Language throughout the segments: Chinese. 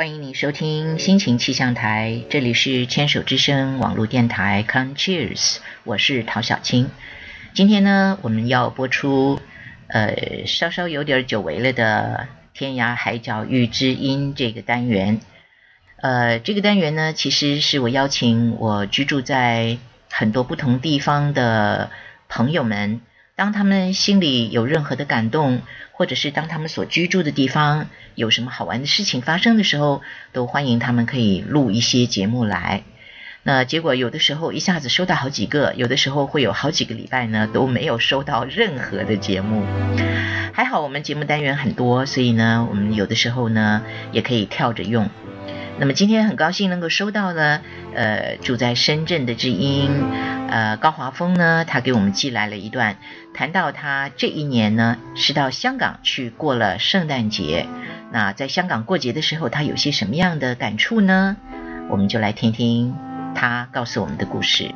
欢迎你收听心情气象台，这里是牵手之声网络电台 Come Cheers， 我是陶小青。今天呢，我们要播出稍稍有点久违了的天涯海角遇知音这个单元。这个单元呢，其实是我邀请我居住在很多不同地方的朋友们，当他们心里有任何的感动，或者是当他们所居住的地方有什么好玩的事情发生的时候，都欢迎他们可以录一些节目来。那结果有的时候一下子收到好几个，有的时候会有好几个礼拜呢都没有收到任何的节目。还好我们节目单元很多，所以呢我们有的时候呢也可以跳着用。那么今天很高兴能够收到呢住在深圳的知音高华峰呢，他给我们寄来了一段，谈到他这一年呢是到香港去过了圣诞节。那在香港过节的时候，他有些什么样的感触呢？我们就来听听他告诉我们的故事。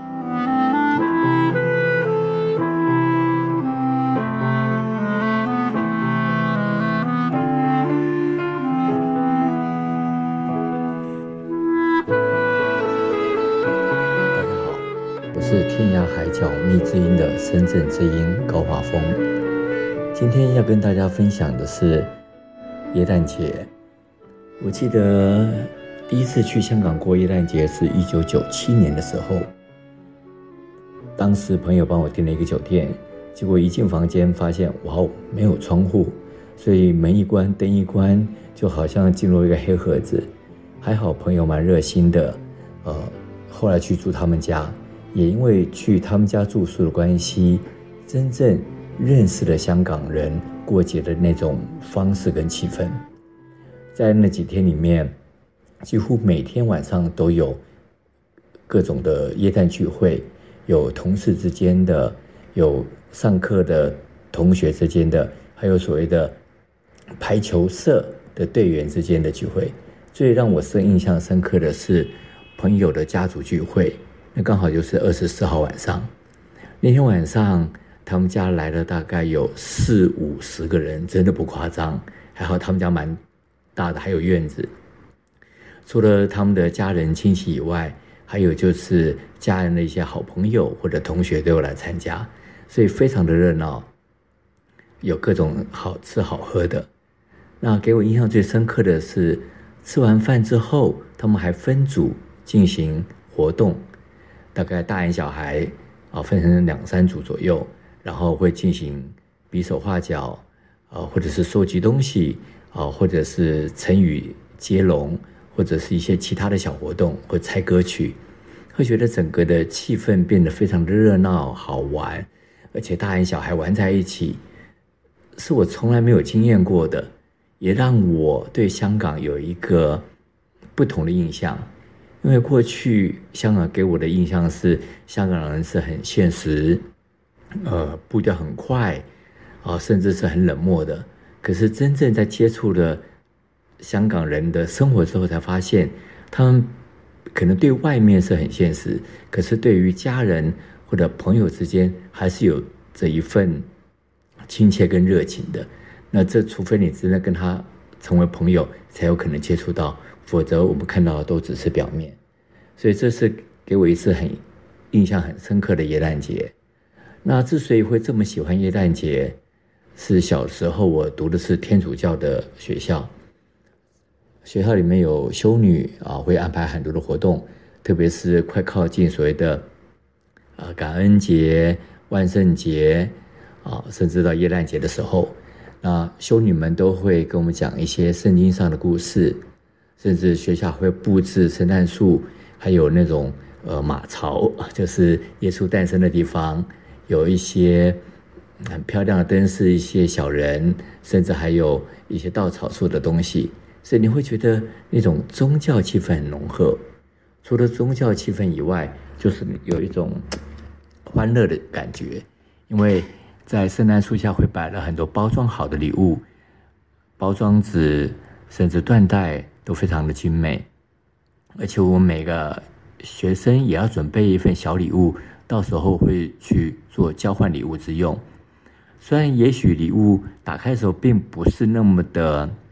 是天涯海角觅知音的深圳知音高华峰。今天要跟大家分享的是耶诞节。我记得第一次去香港过耶诞节是1997年的时候，当时朋友帮我订了一个酒店，结果一进房间发现哇，没有窗户，所以门一关灯一关，就好像进入一个黑盒子。还好朋友蛮热心的，后来去住他们家，也因为去他们家住宿的关系，真正认识了香港人过节的那种方式跟气氛。在那几天里面，几乎每天晚上都有各种的耶诞聚会，有同事之间的，有上课的同学之间的，还有所谓的排球社的队员之间的聚会。最让我印象深刻的是朋友的家族聚会，那刚好就是24号晚上。那天晚上他们家来了大概有40-50个人，真的不夸张。还好他们家蛮大的，还有院子。除了他们的家人亲戚以外，还有就是家人的一些好朋友或者同学都有来参加，所以非常的热闹，有各种好吃好喝的。那给我印象最深刻的是吃完饭之后，他们还分组进行活动，大概大人小孩分成2-3组左右，然后会进行比手画脚或者是收集东西或者是成语接龙，或者是一些其他的小活动，或猜歌曲，会觉得整个的气氛变得非常的热闹好玩，而且大人小孩玩在一起，是我从来没有经验过的，也让我对香港有一个不同的印象。因为过去香港给我的印象是香港人是很现实，步调很快甚至是很冷漠的。可是真正在接触了香港人的生活之后，才发现他们可能对外面是很现实，可是对于家人或者朋友之间还是有这一份亲切跟热情的。那这除非你真的跟他成为朋友，才有可能接触到，否则我们看到的都只是表面。所以这是给我一次印象很深刻的耶诞节。那之所以会这么喜欢耶诞节，是小时候我读的是天主教的学校，学校里面有修女会安排很多的活动，特别是快靠近所谓的感恩节、万圣节甚至到耶诞节的时候，那修女们都会跟我们讲一些圣经上的故事，甚至学校会布置圣诞树，还有那种马槽，就是耶稣诞生的地方，有一些很漂亮的灯饰，一些小人，甚至还有一些稻草树的东西，所以你会觉得那种宗教气氛很浓厚。除了宗教气氛以外，就是有一种欢乐的感觉，因为在圣诞树下会摆了很多包装好的礼物，包装纸甚至缎带都非常的精美，而且我们每个学生也要准备一份小礼物，到时候会去做交换礼物之用。虽然也许礼物打开的时候并不是那么的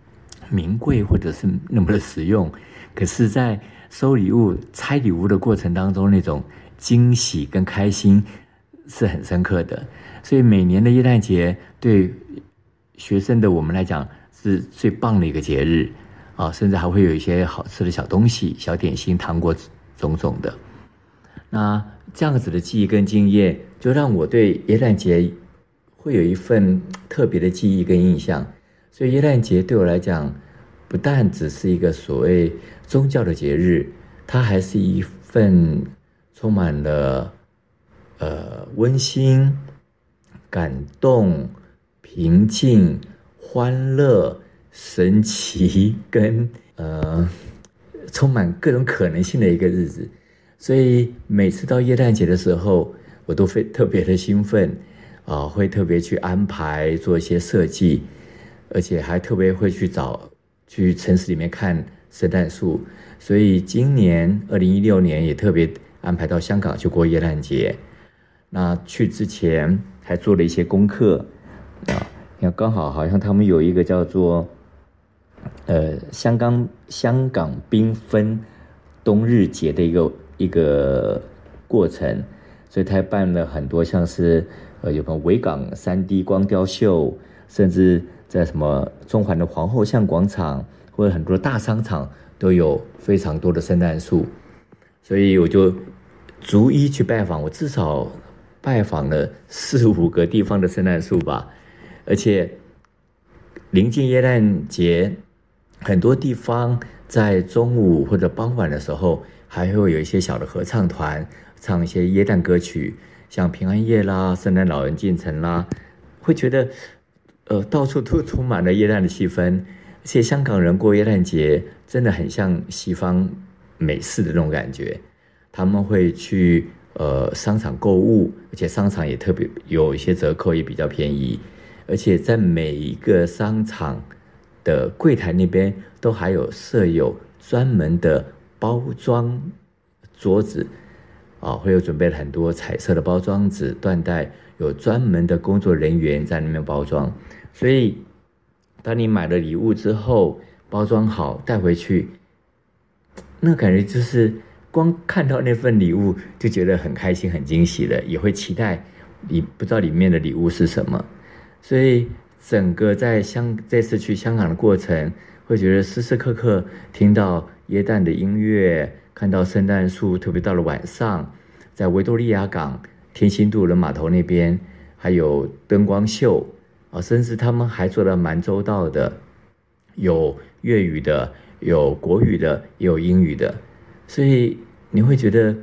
名贵或者是那么的实用，可是在收礼物拆礼物的过程当中，那种惊喜跟开心是很深刻的。所以每年的耶诞节对学生的我们来讲是最棒的一个节日啊，甚至还会有一些好吃的小东西、小点心、糖果种种的。那这样子的记忆跟经验，就让我对耶诞节会有一份特别的记忆跟印象。所以耶诞节对我来讲，不但只是一个所谓宗教的节日，它还是一份充满了温馨、感动、平静、欢乐、神奇跟充满各种可能性的一个日子。所以每次到耶诞节的时候，我都会特别的兴奋会特别去安排做一些设计，而且还特别会去城市里面看圣诞树。所以今年2016年也特别安排到香港去过耶诞节。那去之前还做了一些功课你看刚好像他们有一个叫做香港缤纷冬日节的一个过程，所以他办了很多像是有个维港 3D 光雕秀，甚至在什么中环的皇后像广场或者很多大商场都有非常多的圣诞树。所以我就逐一去拜访，我至少拜访了4-5个地方的圣诞树吧。而且临近耶诞节，很多地方在中午或者傍晚的时候还会有一些小的合唱团唱一些耶诞歌曲，像平安夜啦、圣诞老人进城啦，会觉得到处都充满了耶诞的气氛。而且香港人过耶诞节真的很像西方美式的那种感觉，他们会去商场购物，而且商场也特别有一些折扣，也比较便宜。而且在每一个商场的柜台那边都还有设有专门的包装桌子会有准备了很多彩色的包装纸、缎带，有专门的工作人员在那边包装。所以当你买了礼物之后，包装好带回去，那感觉就是光看到那份礼物就觉得很开心、很惊喜了，也会期待你不知道里面的礼物是什么。所以整个这次去香港的过程，会觉得时时刻刻听到耶诞的音乐，看到圣诞树，特别到了晚上，在维多利亚港、天星渡轮码头那边还有灯光秀甚至他们还做得蛮周到的，有粤语的，有国语的，也有英语的。所以你会觉得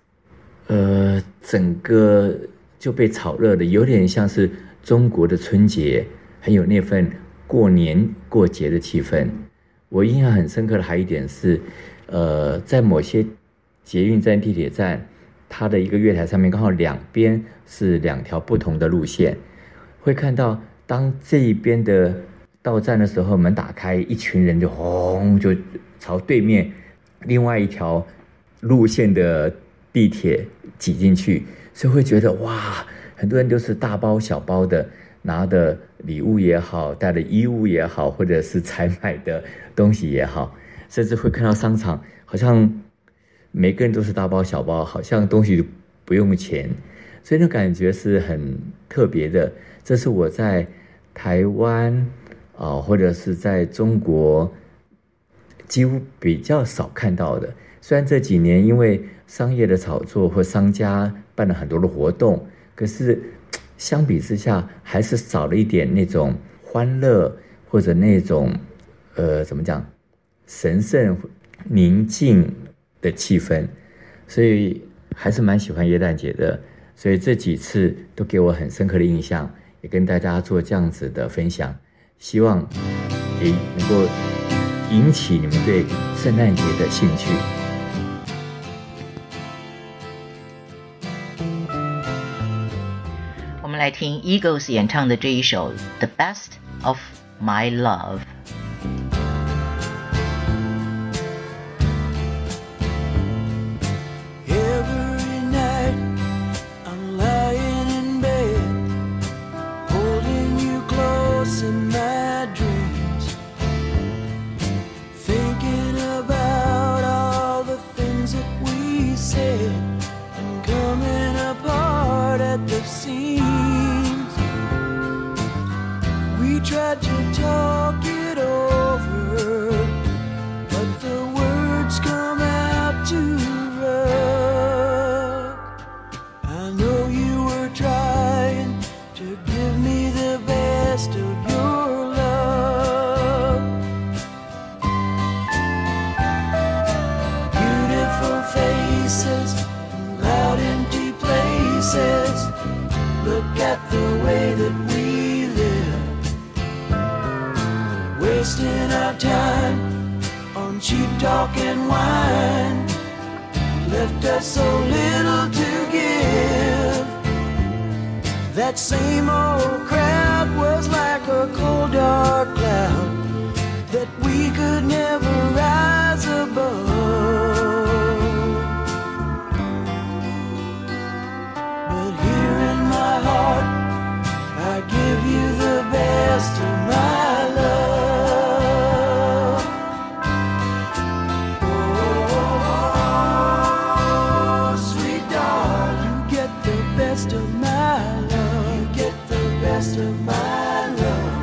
整个就被炒热的，有点像是中国的春节，很有那份过年过节的气氛。我印象很深刻的还有一点是在某些捷运站、地铁站，它的一个月台上面刚好两边是2条不同的路线，会看到当这一边的到站的时候，门打开，一群人就就朝对面另外一条路线的地铁挤进去。所以会觉得哇，很多人都是大包小包的，拿的礼物也好，带的衣物也好，或者是采买的东西也好，甚至会看到商场好像每个人都是大包小包，好像东西不用钱。所以那感觉是很特别的。这是我在台湾或者是在中国几乎比较少看到的。虽然这几年因为商业的炒作或商家办了很多的活动，可是相比之下还是少了一点那种欢乐，或者那种怎么讲，神圣宁静的气氛。所以还是蛮喜欢耶诞节的。所以这几次都给我很深刻的印象，也跟大家做这样子的分享，希望能够引起你们对圣诞节的兴趣。 我们来听 Eagles 演唱的这一首 The Best of My Love。 at the seams. We tried to talk it over, but the words come out too rough. I know you were trying to give me the best of your love. Beautiful faces, loud empty places. Look at the way that we live, wasting our time on cheap talk and wine. Left us so little to give. That same old crowd was like a cold dark cloud that we could never rise above. But here in my heart, I give you the best of my love. Oh, sweet darling, you get the best of my love. You get the best of my love.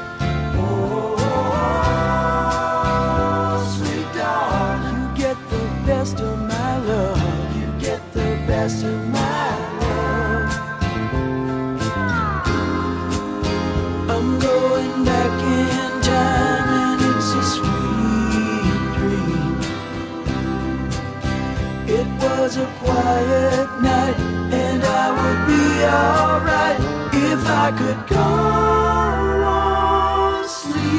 Oh, sweet darling, you get the best of my love. You get the best of my love. I'm going back in time and it's a sweet dream. It was a quiet night and I would be alright if I could go on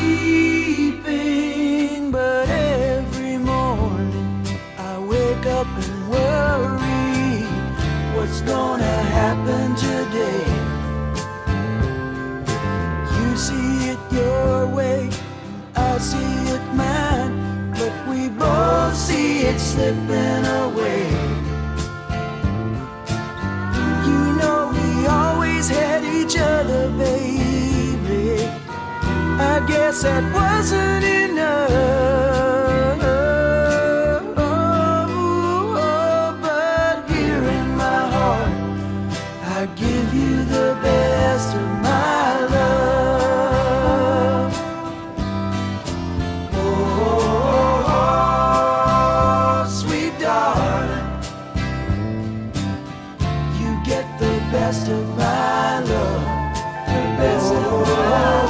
sleeping. But every morning I wake up and worry what's gonna happen today. You see it your way, I see it mine, but we both see it slipping away. You know we always had each other, baby. I guess that wasn't enough. But here in my heart, I give you the best of my love. Oh, sweet darling, you get the best of my love. The best of my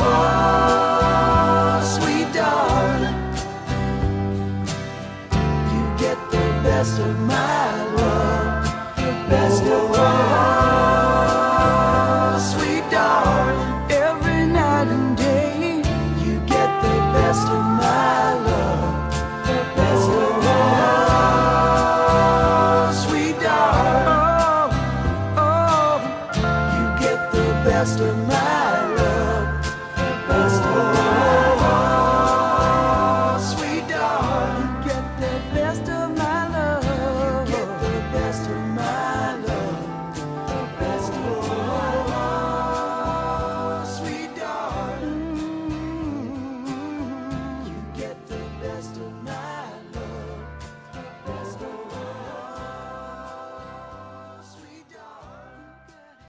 love. Sweet darling, you get the best of my love. The best of my love. Sweet darling, every night and day, you get the best of my love. The best of my love. Sweet darling, oh, you get the best of my